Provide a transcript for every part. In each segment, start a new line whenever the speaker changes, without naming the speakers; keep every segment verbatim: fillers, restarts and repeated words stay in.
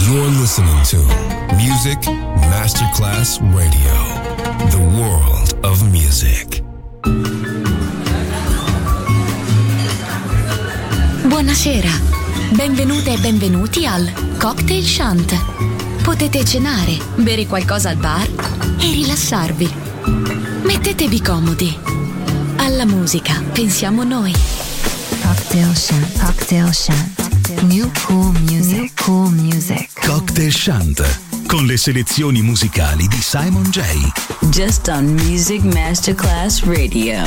You're listening to Music Masterclass Radio, the world of music.
Buonasera, benvenute e benvenuti al Cocktail Shant. Potete cenare, bere qualcosa al bar e rilassarvi. Mettetevi comodi. Alla musica pensiamo noi.
Cocktail Shant, Cocktail Shant. New cool music, New cool music.
Cocktail Shant, con le selezioni musicali di Simon J.
Just on Music Masterclass Radio.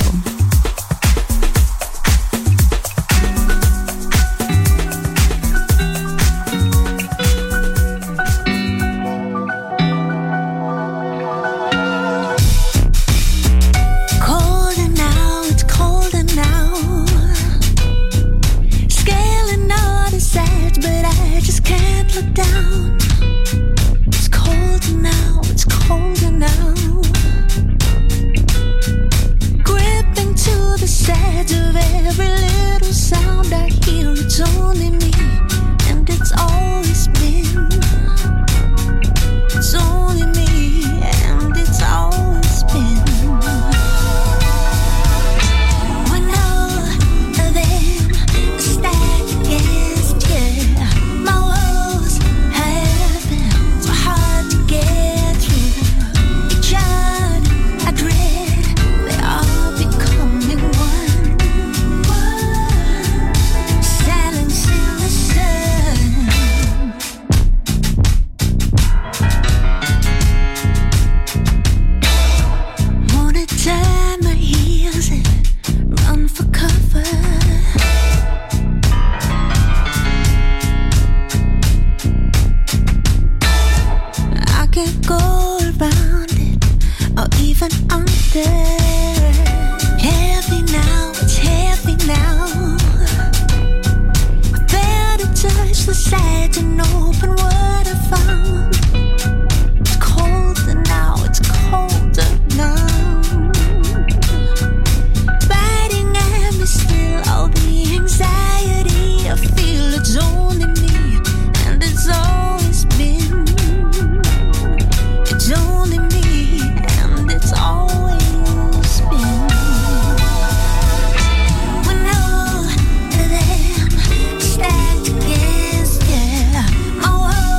My world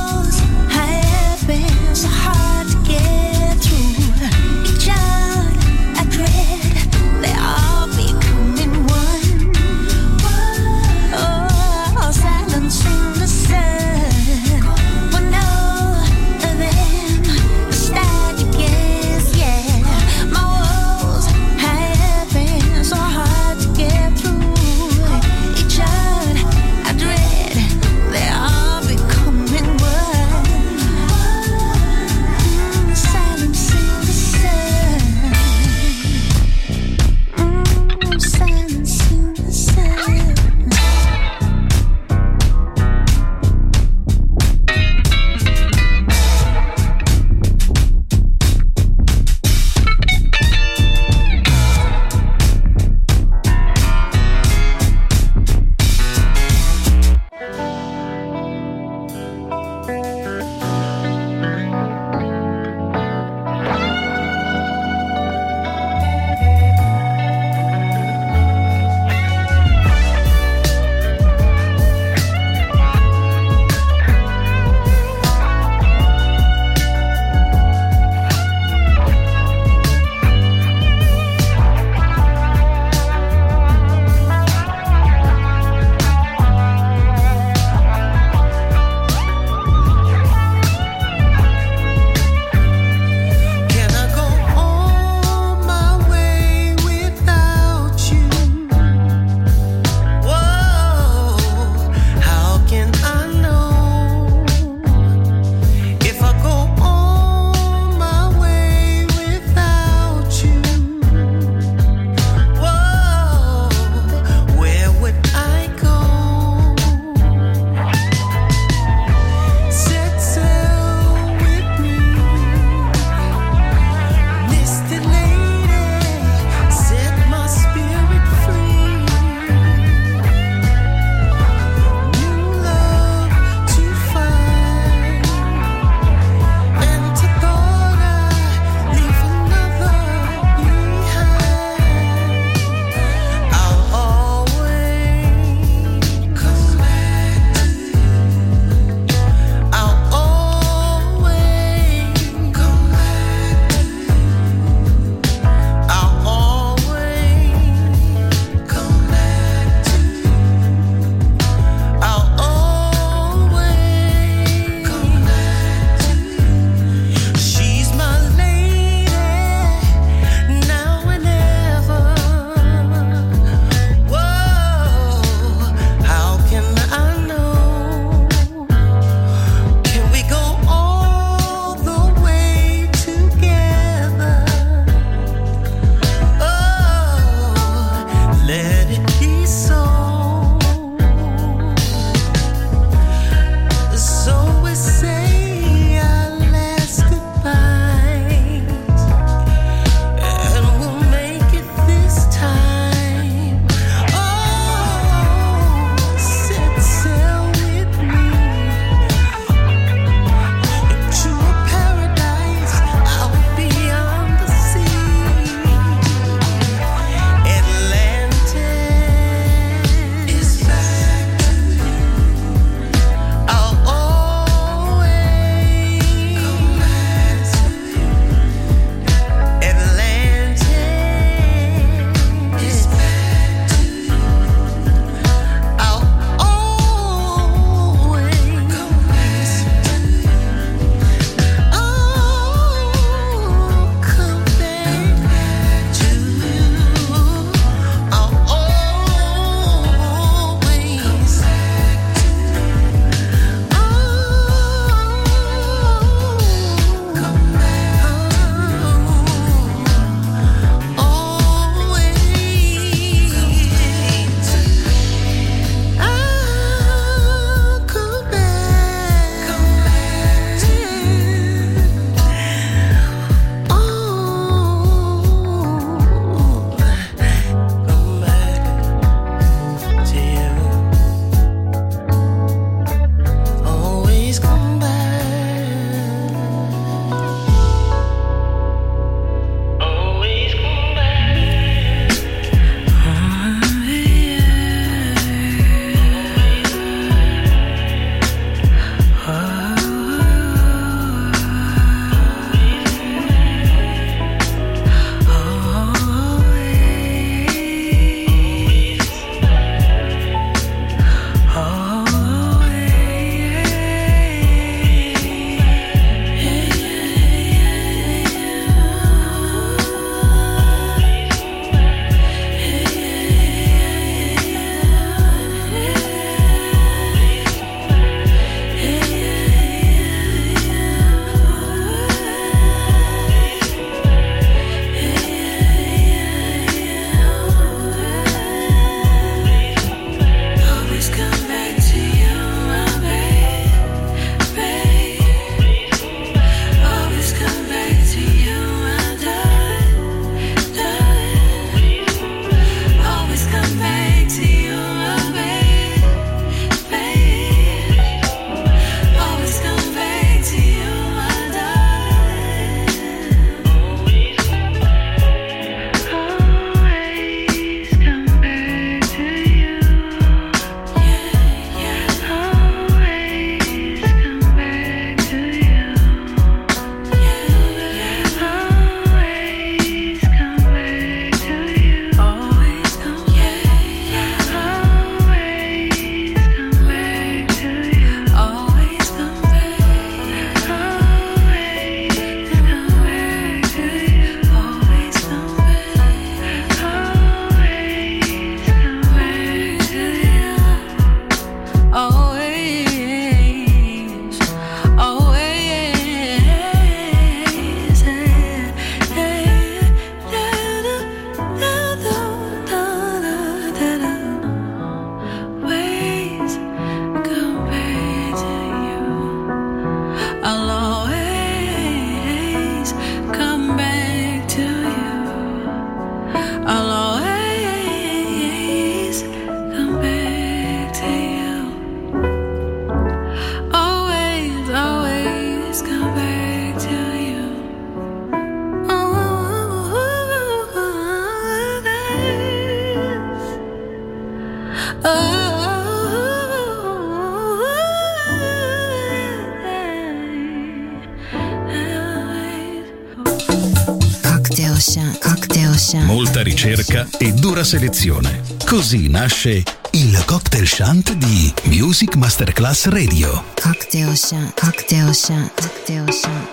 Ocean.
Molta ricerca e dura selezione. Così nasce il Cocktail Shant di Music Masterclass Radio.
Cocktail Shant, Cocktail Shant, Cocktail Shant.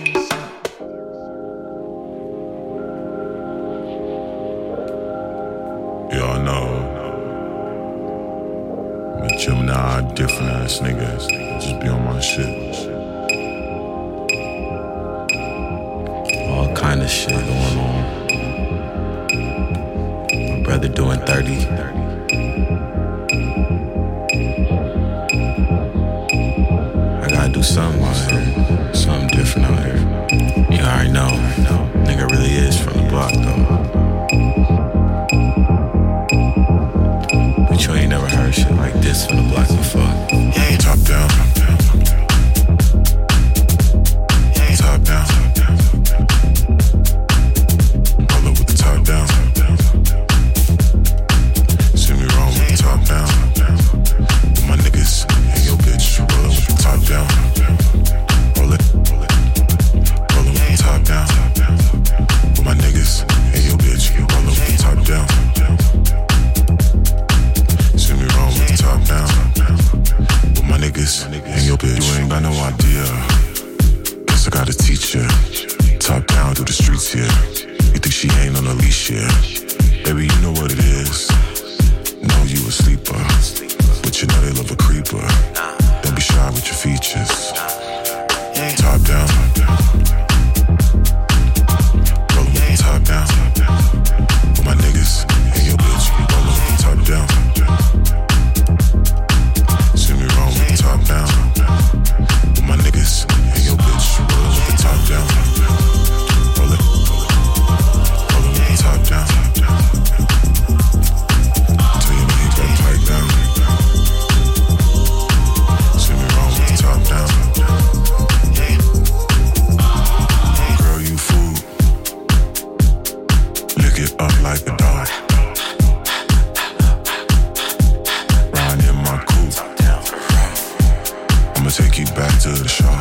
Y'all know I'm a Gemini, different ass nigga. Just be on my shit. All kind of shit going on. My brother doing thirty. I gotta do something out here. Something different out here. You already know. Nigga really is from the block though. But you ain't never heard shit like this from the block before. Yeah, top down, top down, top down. Yeah, top down, top down, top down. Roll up with the top down, top down, top down. See me wrong with the top down, top down. With my niggas and your bitch. Roll up with the top down, top down. Roll it, roll it. Roll up with the top down, top down. With my niggas and your bitch. Roll up with the top down, top down. See me wrong with the top down. With my niggas and your bitch. You ain't got no idea. Guess I gotta teach ya. Top down through the streets here. You think she ain't on a leash here? Baby, you know what it is. Know you a sleeper, but you know they love a creeper. Don't be shy with your features. Top down. Roll with the top down. With my niggas and your bitch. Roll with the top down. See me wrong with the top down. With my niggas and your bitch. Roll with the top down. Roll it. Roll it with the top down. Tell your man he better pipe down. See me wrong with the top down. Girl, you fool. Lick it up like a dog. Ride in my coupe. I'ma take you back to the shop.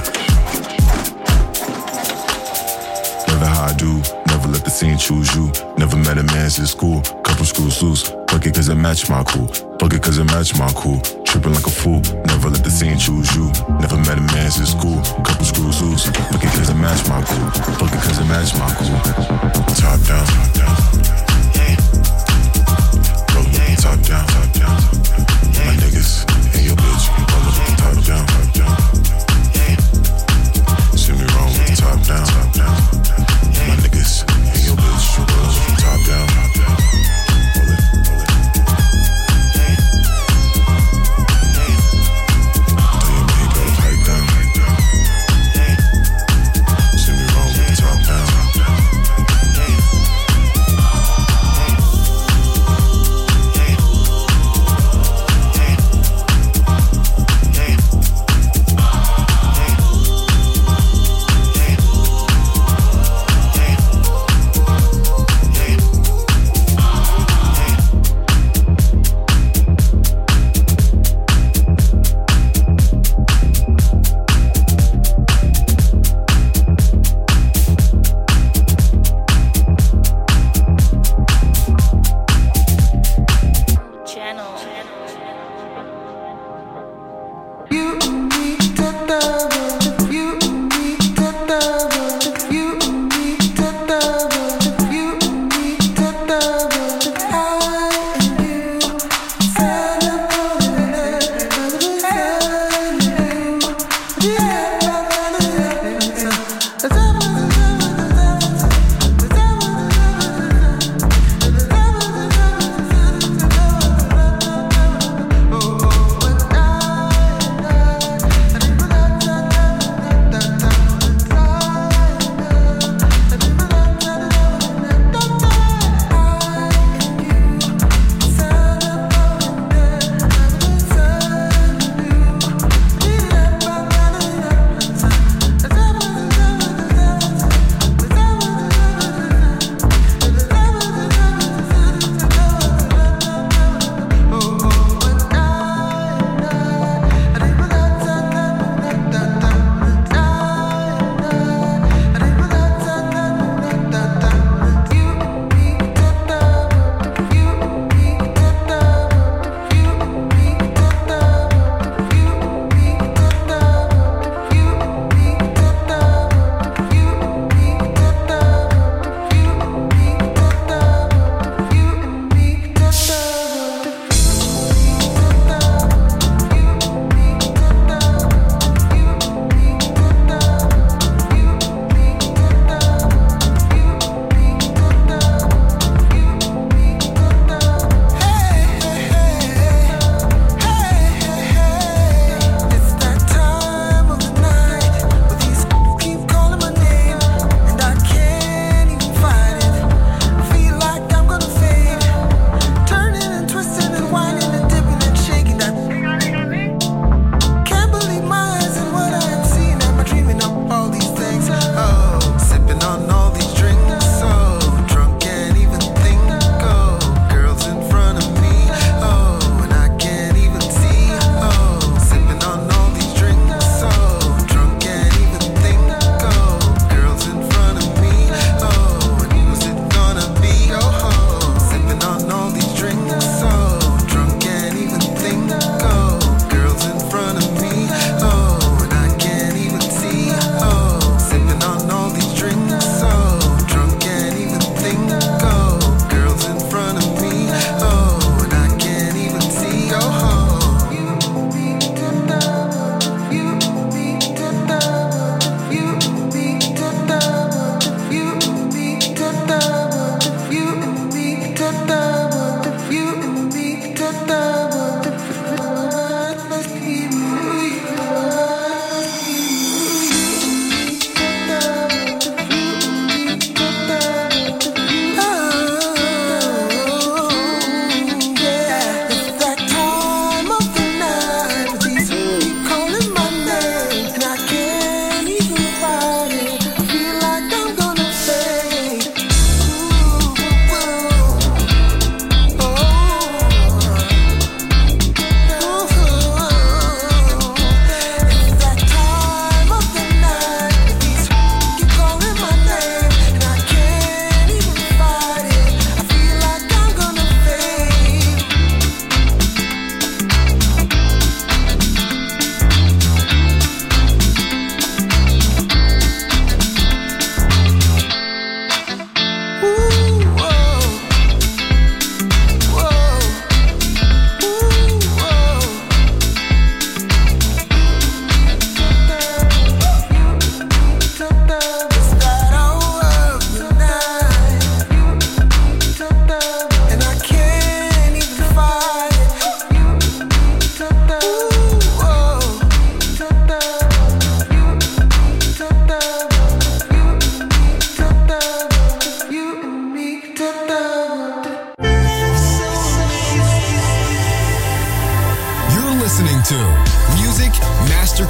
Never how I do, never let the scene choose you. Never met a man since school, couple screws loose. Fuck it cause it match my cool, fuck it cause it match my cool. Tripping like a fool, never let the scene choose you. Never met a man since school, couple screws loose. Fuck it cause it match my cool, fuck it cause it match my cool. Top down, top down. Roll with the top down, top down. My niggas and your bitch, roll with the top down, top down. See me wrong with the top down, top down. My niggas and your bitch, roll with the top down, top down. Roll it, roll it. Tell your man he better pipe down. See me wrong with the top down.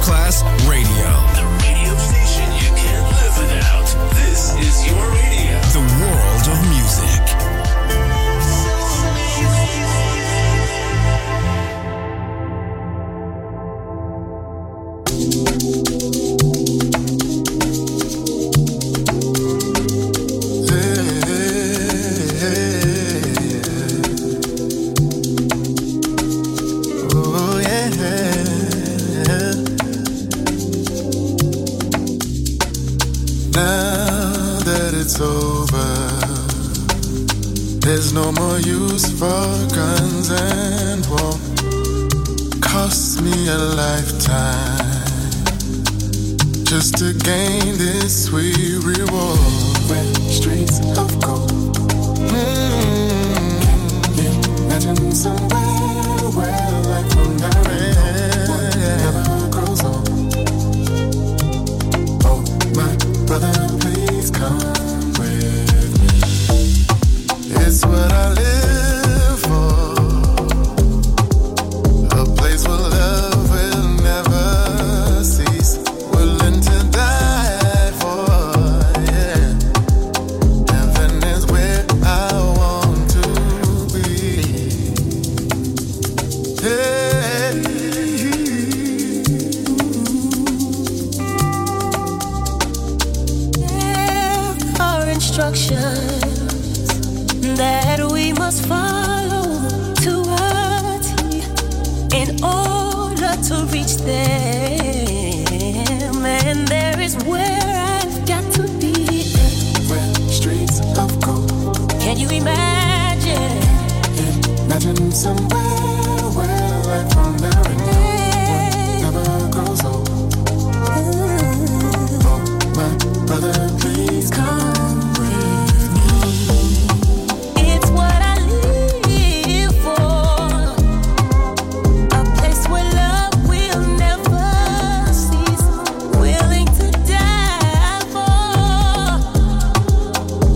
Masterclass Radio.
The radio station you can't live without. This is your radio.
The world of music.
There's no more use for guns and war. Cost me a lifetime just to gain this sweet reward. Red streets of gold. Mm-hmm. Can you imagine somewhere where life from now never grows old? Oh, my brother, please come. It's what I live for. A place where love will never cease. Willing to die for, yeah. Heaven is where I want to be. Hey.
There are instructions that we must follow to a T in order to reach them. And there is where I've got to be.
Red streets of gold.
Can you imagine?
Imagine somewhere where life from now and never grows old. Oh, my brother, please come.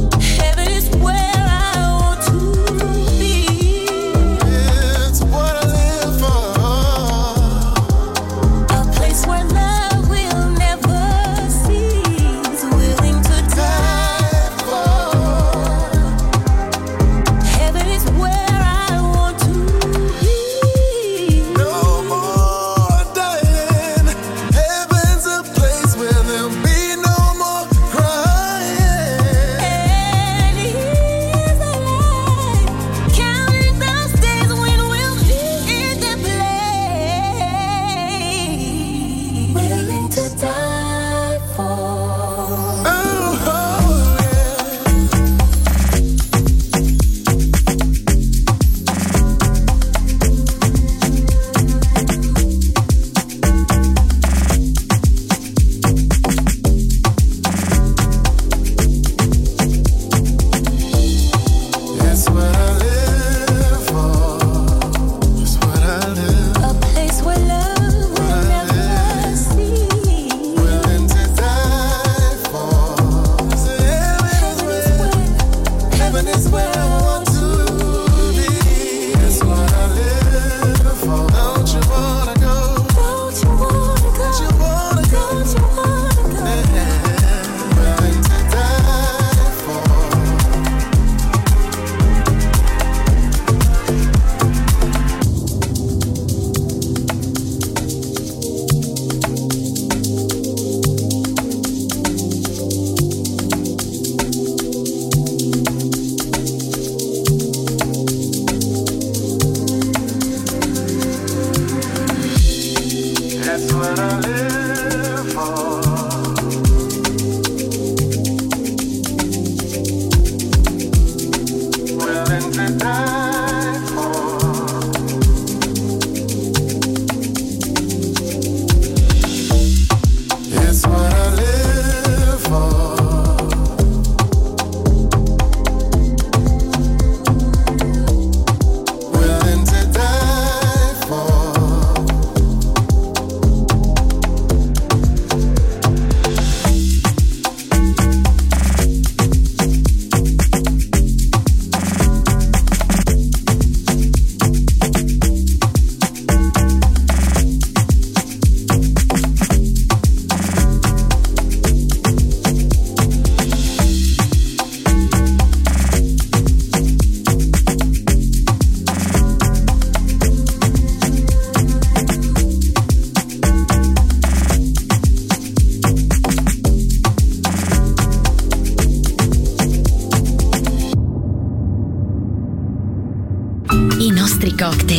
What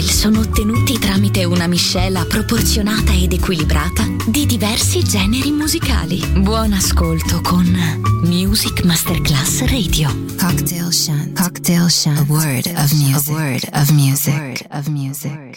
cocktail sono ottenuti tramite una miscela proporzionata ed equilibrata di diversi generi musicali. Buon ascolto con Music Masterclass Radio.
Cocktail Shunt. Cocktail Shunt. A word of music. A word of music. A word of music.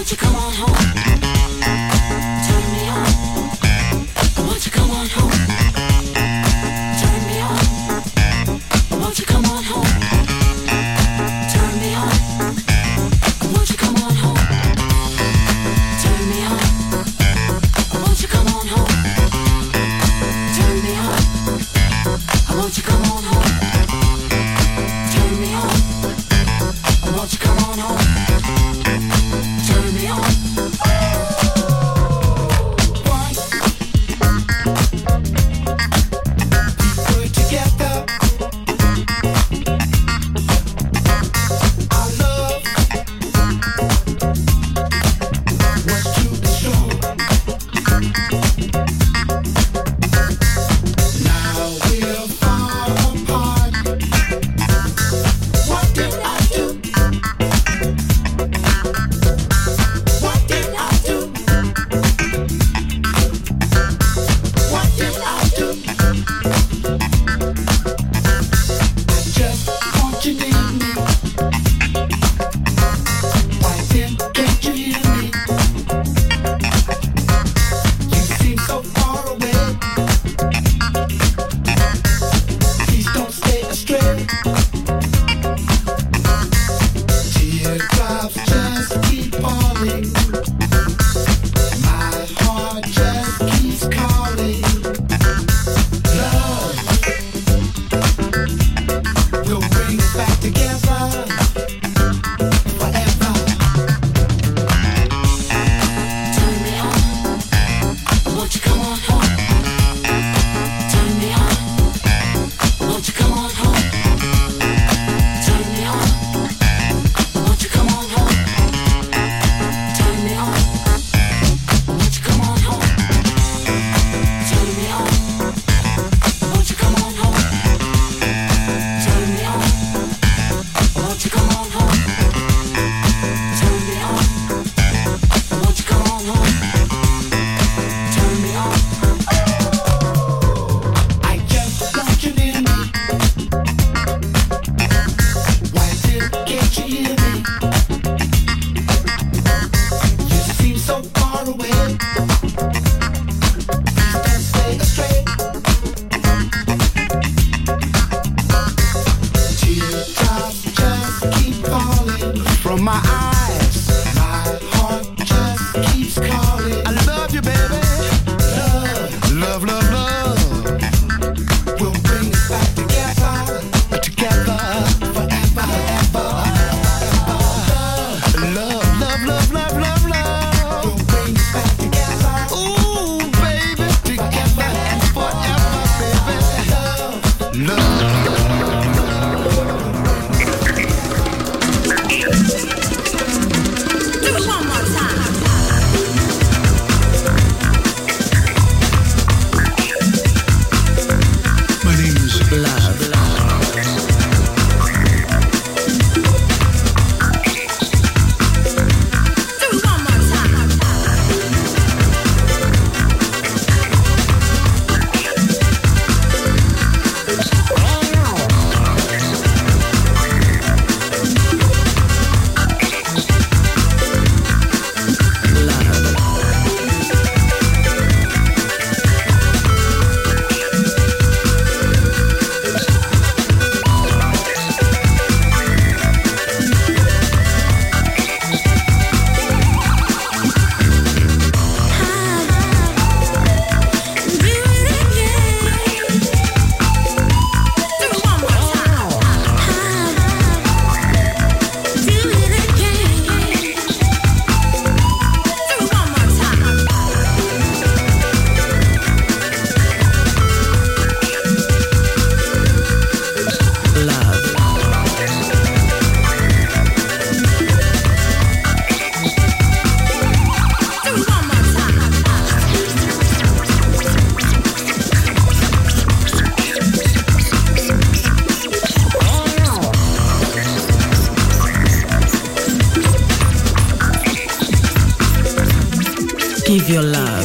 Give your love.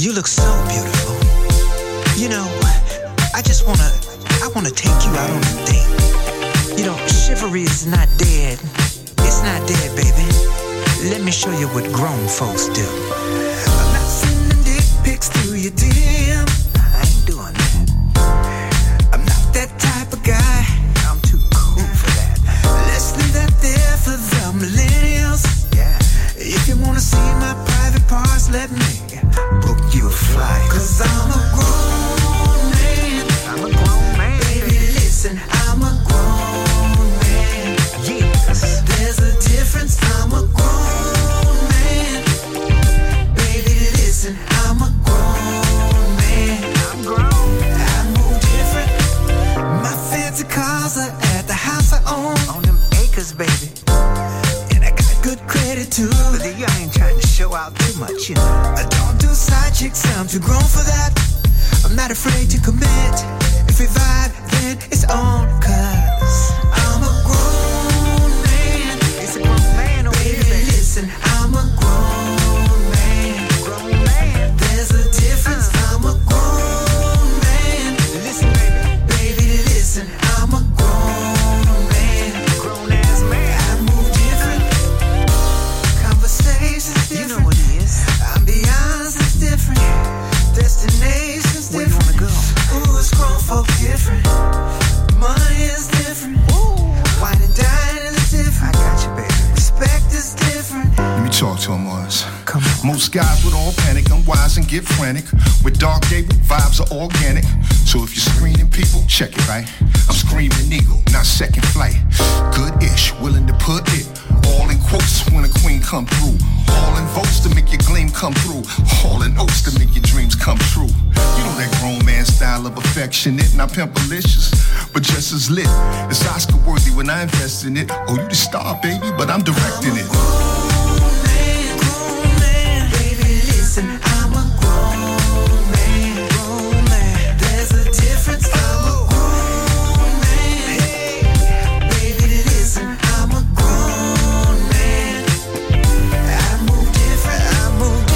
You look so beautiful. You know, I just wanna, I wanna take you out on a date. You know, chivalry is not dead. It's not dead, baby. Let me show you what grown folks do. I'm not sending dick pics to your D M. I ain't doing that. I'm not that type of guy. I'm too cool for that. Let's leave that there for the millennials. Yeah. If you wanna see my private parts, let me book you a flight. Cause I'm a grown man. I'm a grown man. Baby, listen, I'm a grown man. Yes. There's a difference. I'm a grown man. Baby, listen, I'm a grown man. I'm grown. I move different. My fancy cars are at the house I own. On them acres, baby. And I got good credit too. But I ain't trying to show out too much, you know. I don't do side chicks, I'm too grown for that. I'm not afraid to commit. If we vibe, then it's on. Cause I'm a grown man. It's a grown man over here, baby. Listen, I'm a grown man. Grown man. There's a difference. Uh. I'm a grown man. Listen, baby. Baby, listen, I'm a grown man. Grown ass man. I move different. Conversations different. You know what it is. Ambiance is different. Destination's different. Where you wanna go? Ooh, it's grown folk different. Money is different. Ooh. Wine and dining is different. I got you, baby. Respect is different.
Let me talk to him, Mars. Come on. Most guys would all panic, unwise and get frantic. With Dark Gable, vibes are organic. So if you're screening people, check it, right? I'm screaming eagle, not second flight. Good-ish, willing to put it all in quotes when a queen come through. All in votes to make your gleam come through. All in oats to make your dreams come true. You know that grown man style of affectionate, not pimpalicious, but just as lit. It's Oscar worthy when I invest in it. Oh, you the star, baby, but I'm directing it.
Grown man, grown man. Baby, listen, I'm a grown man. Grown man. There's a difference. I'm a grown man. Hey, baby, listen, I'm a grown man. I move different. I move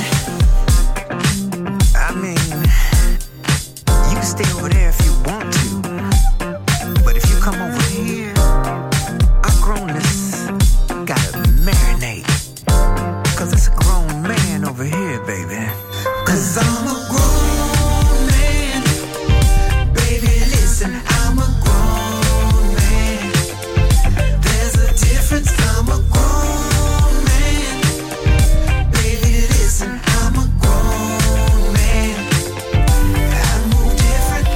different. I mean, you can stay over there if you want to, but if you come over here, our grownness gotta marinate. Cause it's a grown man over here, baby. Cause I'm a grown man. Baby, listen, I'm a grown man. There's a difference. I'm a grown man. Baby, listen, I'm a grown man. I move different.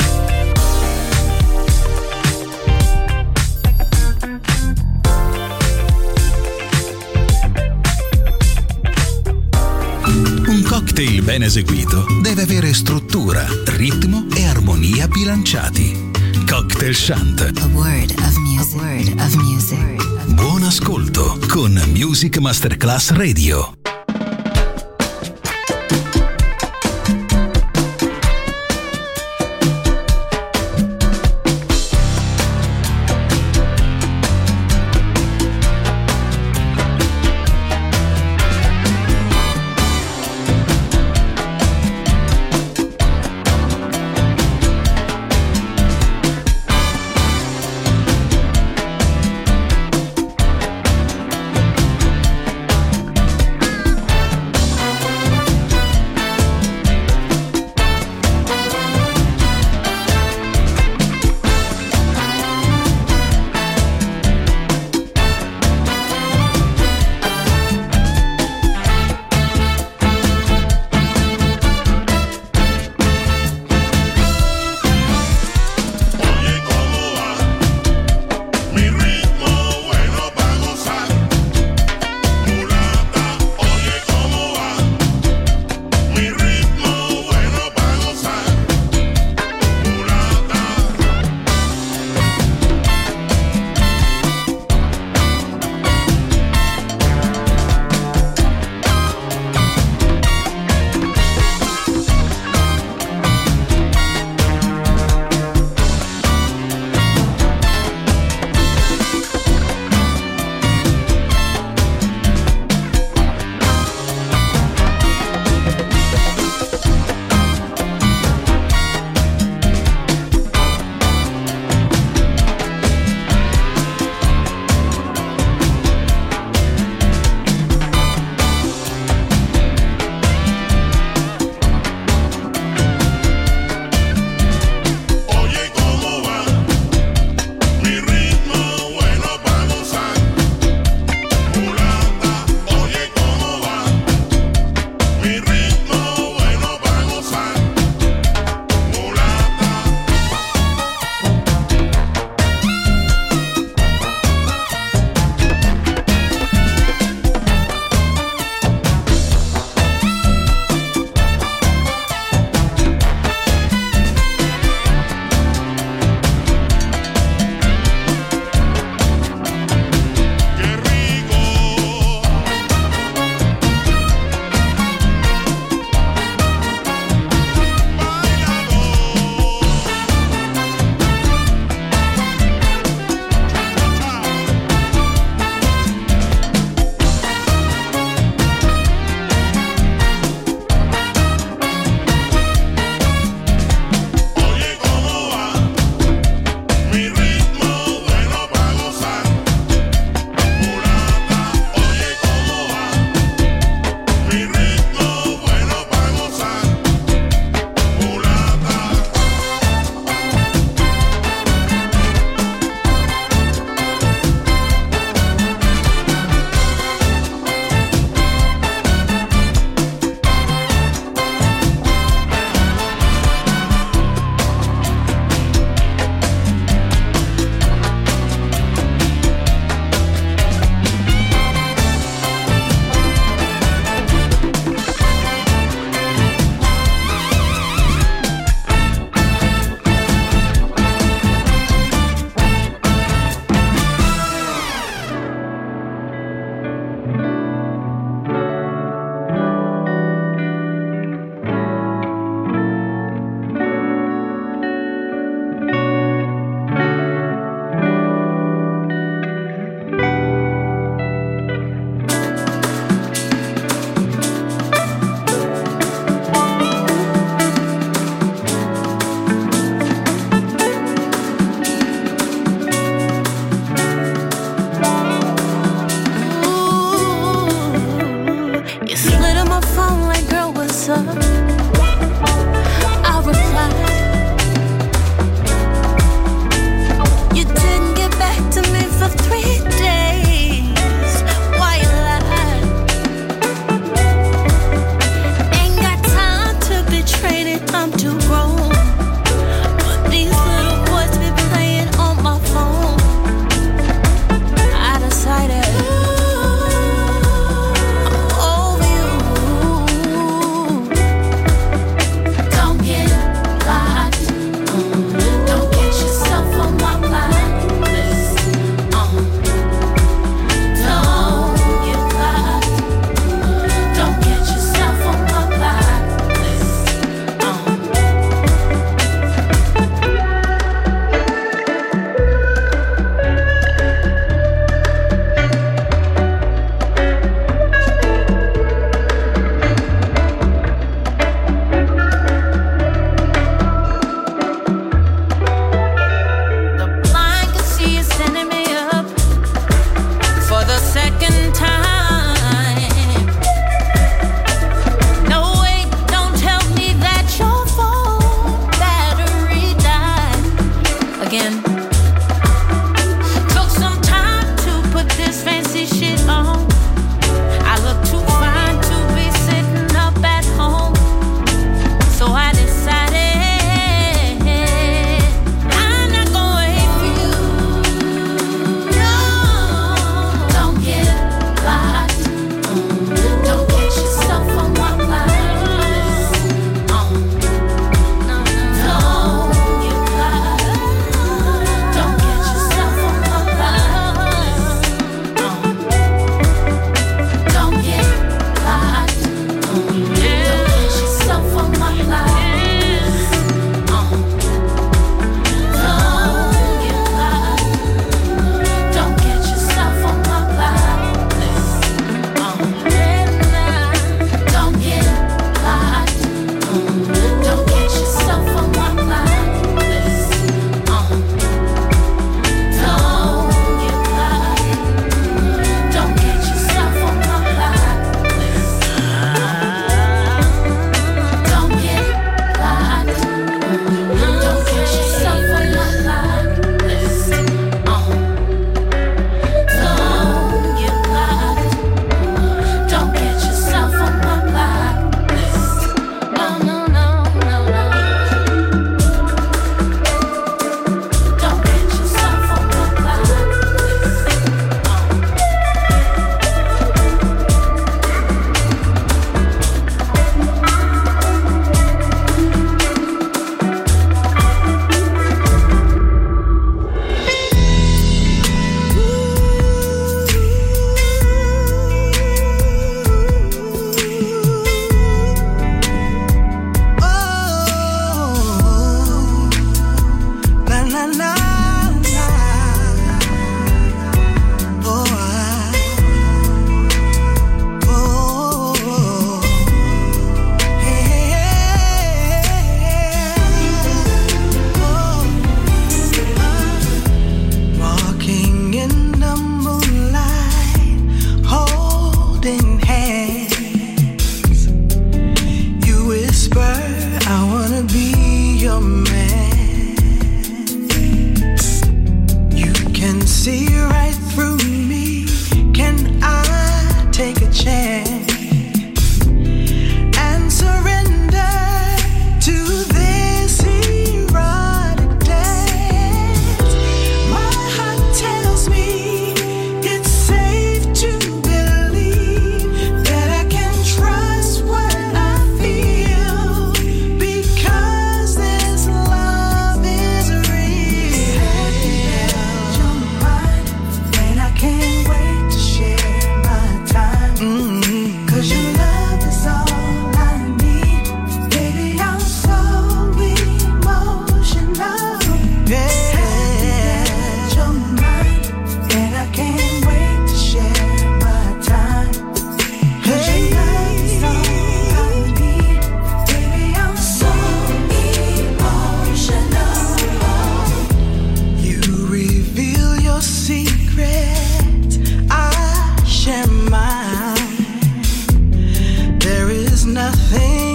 Un cocktail ben eseguito deve avere struttura, ritmo e armonia bilanciati. Cocktail Shant.
A word of music. A word of music.
Buon ascolto con Music Masterclass Radio.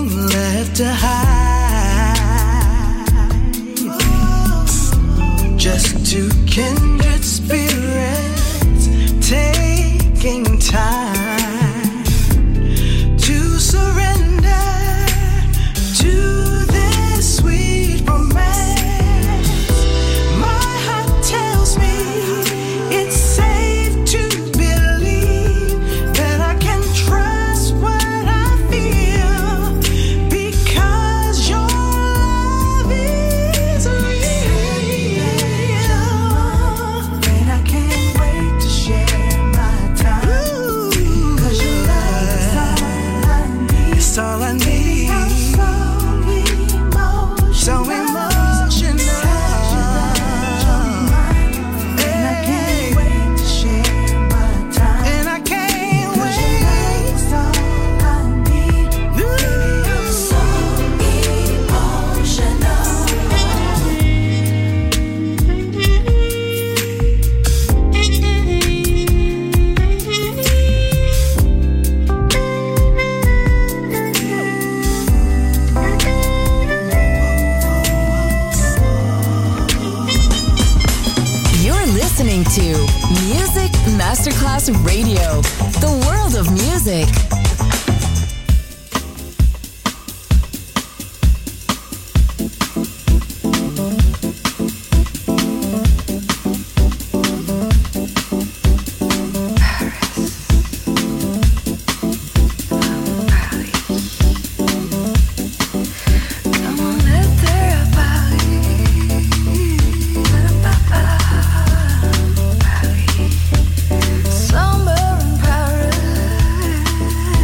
nothing left to hide. Just two kindred spirits taking time to surrender to this sweet romance. My heart tells me it's safe to believe that I can trust what I feel, because your love is real. And I can't wait to share my time, 'cause your love is all I need. It's all I need. I'm so emotional, so emotional. And I can't wait to share my time, and I can't wait. 'Cause your love is all I need. Baby, I'm so
You're listening to Music Masterclass Radio, the world of music.
Somewhere in Paris,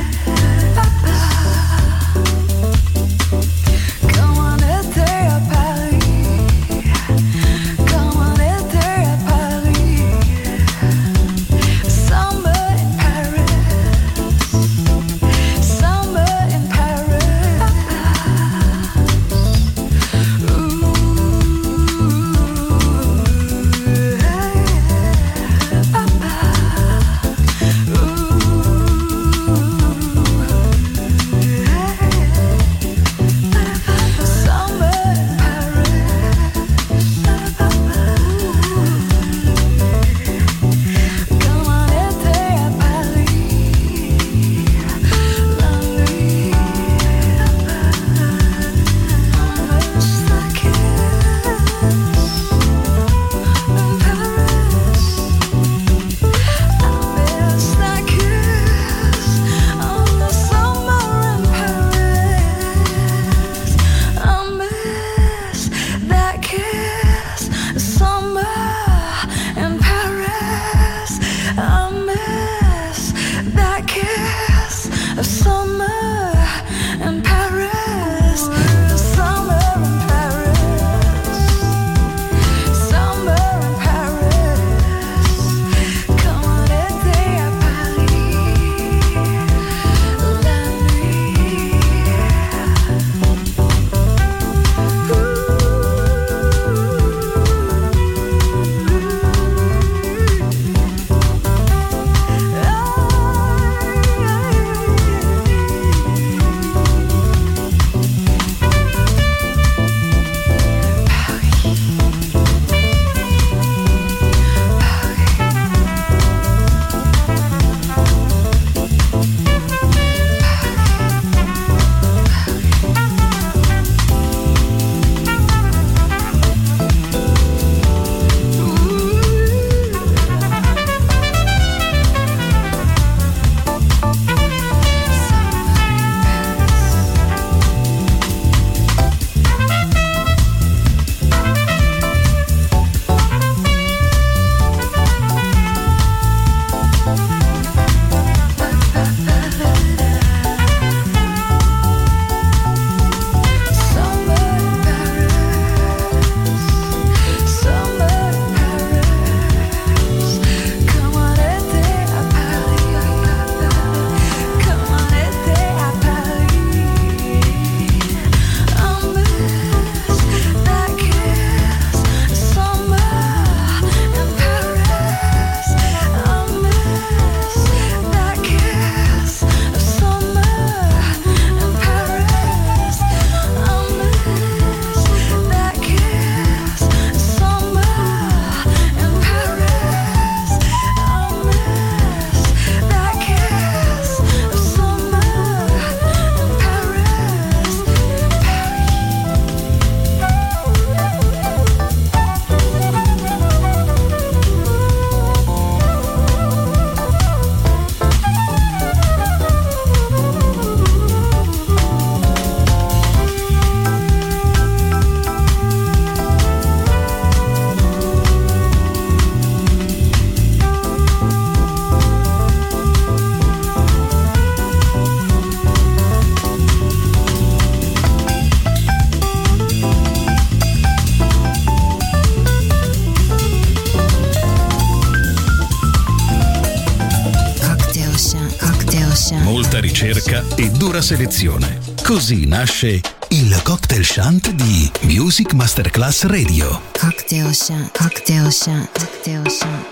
ricerca e dura selezione. Così nasce il Cocktail Shant di Music Masterclass Radio.
Cocktail Shant, Cocktail Shant, Cocktail Shant.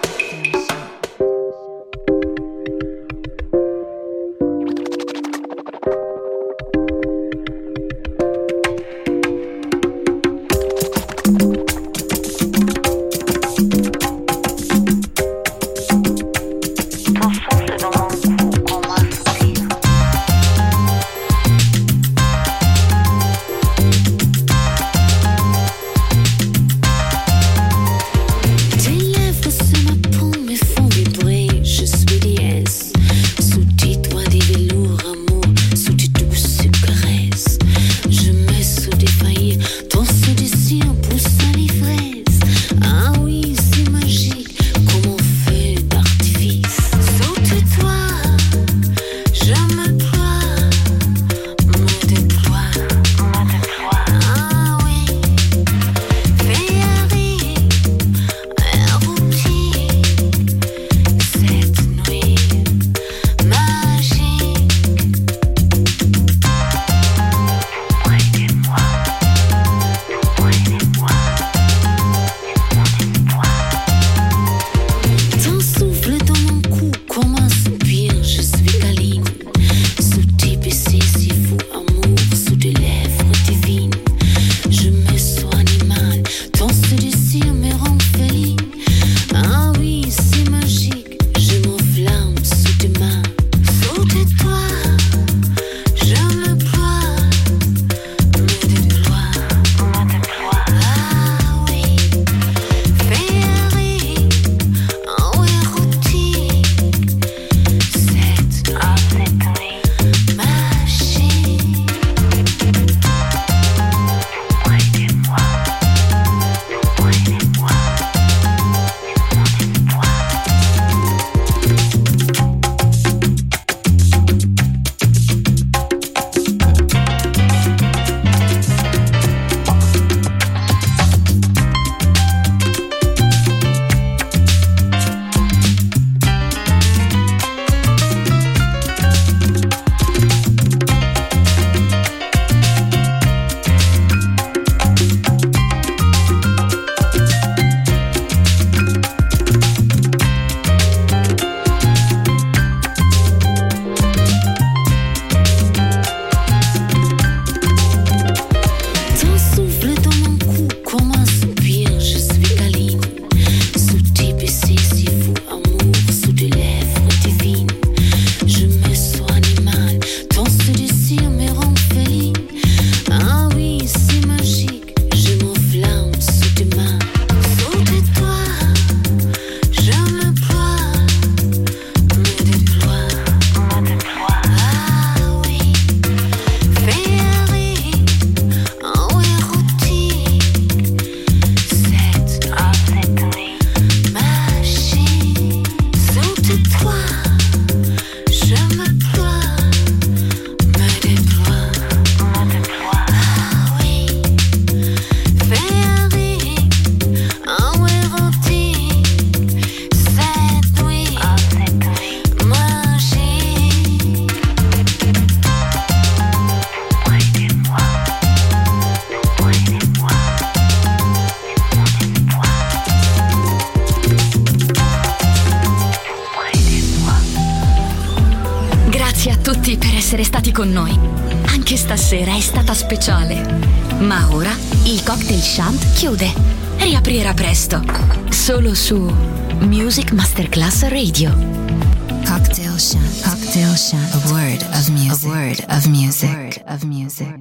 Essere stati con noi. Anche stasera è stata speciale. Ma ora il Cocktail Shant chiude. Riaprirà presto. Solo su Music Masterclass Radio.
Cocktail Shant, Cocktail Shant, a word of music, a word of music, a word of music.